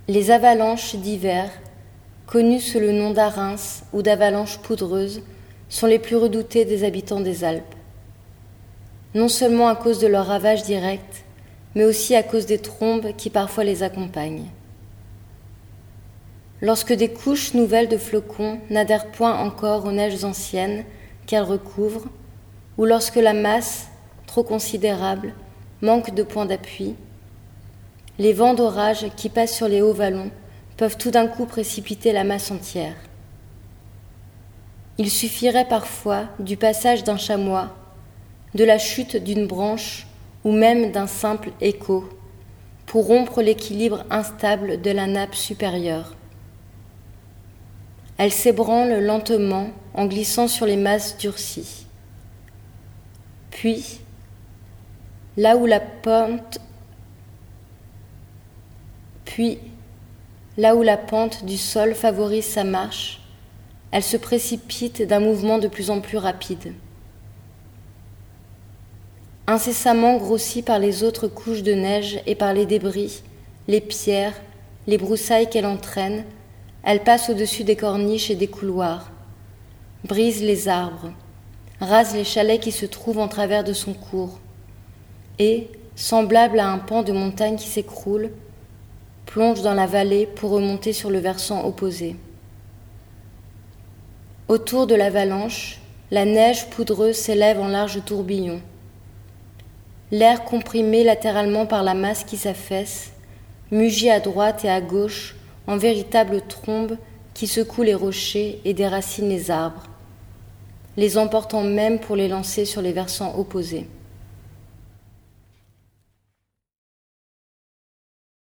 Les avalanches d'hiver, connues sous le nom d'arinces ou d'avalanches poudreuses, sont les plus redoutées des habitants des Alpes. Non seulement à cause de leurs ravages directs, mais aussi à cause des trombes qui parfois les accompagnent. Lorsque des couches nouvelles de flocons n'adhèrent point encore aux neiges anciennes qu'elles recouvrent, ou lorsque la masse, trop considérable, manque de point d'appui, les vents d'orage qui passent sur les hauts vallons peuvent tout d'un coup précipiter la masse entière. Il suffirait parfois du passage d'un chamois, de la chute d'une branche ou même d'un simple écho pour rompre l'équilibre instable de la nappe supérieure. Elle s'ébranle lentement en glissant sur les masses durcies. Puis, là où la pente du sol favorise sa marche, elle se précipite d'un mouvement de plus en plus rapide. Incessamment grossie par les autres couches de neige et par les débris, les pierres, les broussailles qu'elle entraîne, elle passe au-dessus des corniches et des couloirs, brise les arbres, rase les chalets qui se trouvent en travers de son cours, et, semblable à un pan de montagne qui s'écroule, plonge dans la vallée pour remonter sur le versant opposé. Autour de l'avalanche, la neige poudreuse s'élève en larges tourbillons. L'air comprimé latéralement par la masse qui s'affaisse, mugit à droite et à gauche en véritables trombes qui secouent les rochers et déracinent les arbres, les emportant même pour les lancer sur les versants opposés.